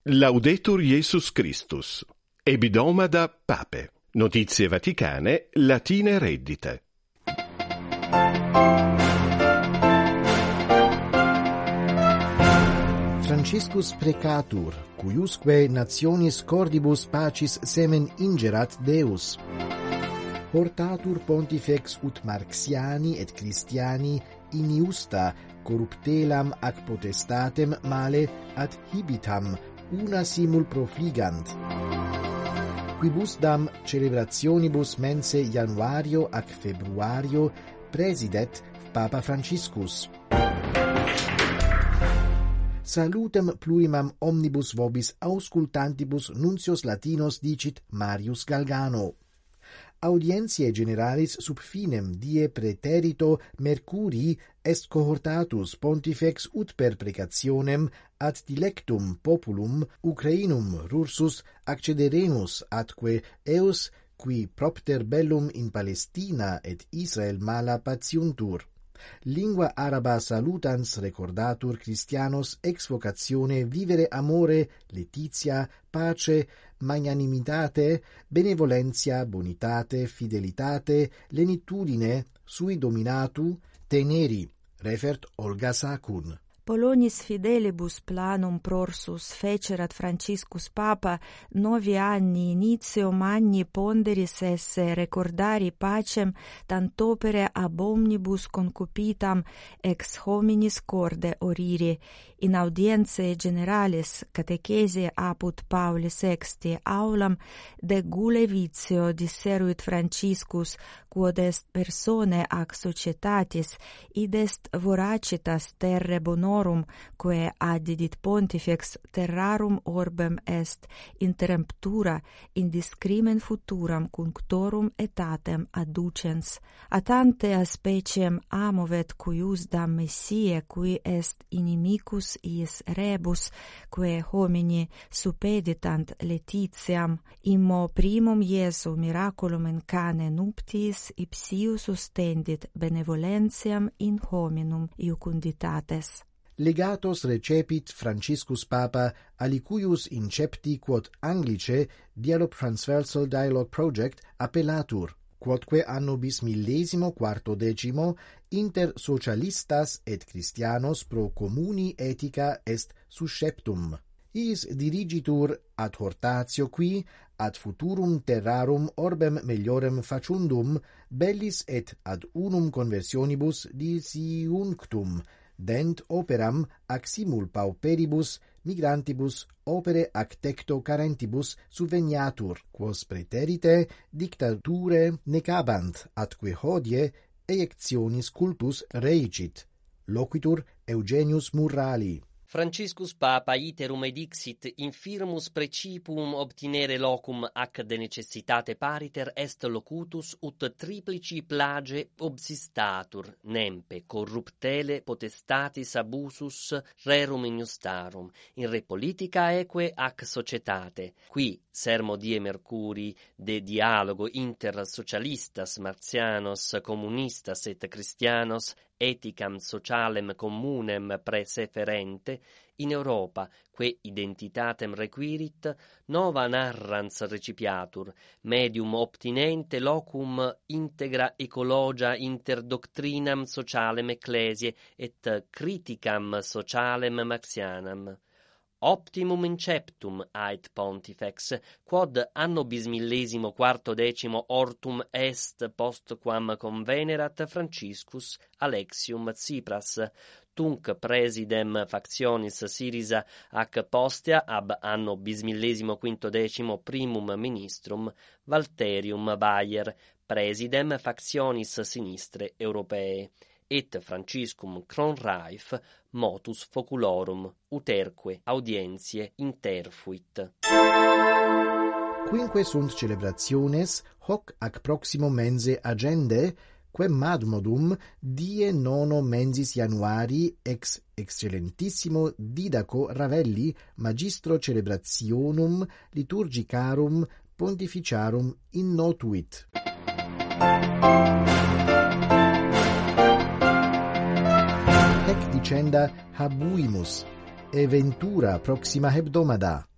Laudetur Jesus Christus. Ebidomada Pape. Notizie vaticane, latine reddite. Franciscus precatur, cuiusque nationis cordibus pacis semen ingerat Deus. Portatur pontifex ut Marxiani et Christiani iniusta corruptelam ac potestatem male ad hibitam una simul profligant. Quibusdam celebrationibus mense januario ac februario presidet Papa Franciscus. Salutem plurimam omnibus vobis auscultantibus nuncios latinos dicit Marius Galgano. Audientiae generalis sub finem die praeterito Mercurii est cohortatus pontifex ut per precationem ad dilectum populum Ucrainum rursus accederemus atque eos qui propter bellum in Palestina et Israel mala patiuntur. Lingua araba salutans recordatur Christianos ex vocatione vivere amore, laetitia, pace, magnanimitate, benevolentia, bonitate, fidelitate, lenitudine, sui dominatu, teneri, refert Olga Sacun. Polonis fidelibus planum prorsus fecerat Franciscus Papa 9 anni initium anni ponderis esse recordari pacem tantopere ab omnibus concupitam ex hominis corde oriri. In audienzae generalis catechesi apud Pauli VI aulam de gule vitio disseruit Franciscus, quod est persone ac societatis, id est voracitas terre bonorum, quae addidit pontifex terrarum orbem est interemptura in discrimen futuram cunctorum etatem adducens. Atante a speciem amovet cuiusdam Messie, qui est inimicus iis rebus, quae homini suppeditant laetitiam, immo primum Iesu miraculum in cane nuptiis ipsiu sustendit benevolentiam in hominum iucunditates. Legatos recepit Franciscus Papa alicuius incepti quod Anglice Dialogue Transversal Dialogue Project appellatur, quodque anno bis 1410 inter socialistas et Christianos pro communi ethica est susceptum. Is dirigitur ad hortatio qui ad futurum terrarum orbem meliorem facundum bellis et ad unum conversionibus disiunctum dent operam ac simul pauperibus migrantibus opere ac tecto carentibus subveniatur, quos praeterite dictature necabant, atque hodie eiectionis cultus reicit. Loquitur Eugenius Murrali. Franciscus Papa iterum edixit infirmus principium obtinere locum ac de necessitate pariter est locutus ut triplici plage obsistatur nempe corruptele potestatis abusus rerum injustarum in re politica eque ac societate, qui sermo die Mercurii de dialogo inter socialistas marxianos communistas et Christianos ethicam socialem communem preseferente in Europa, que identitatem requirit, nova narrans recipiatur, medium obtinente locum integra ecologia inter doctrinam socialem ecclesiae et criticam socialem marxianam. Optimum inceptum ait pontifex, quod anno bis 1410 ortum est postquam convenerat Franciscus Alexium Tsipras, tunc presidem factionis Syriza ac postea ab anno bis 1510 primum ministrum Valterium Bayer, presidem factionis sinistre europee. Et Franciscum Kronreif motus foculorum uterque audientiae interfuit. Quinque sunt celebrationes hoc ac proximo mense agende, quem madmodum die 9 mensis Januari ex excellentissimo Didaco Ravelli magistro celebrationum liturgicarum pontificarum innotuit. Hec dicenda habuimus, e ventura proxima hebdomada.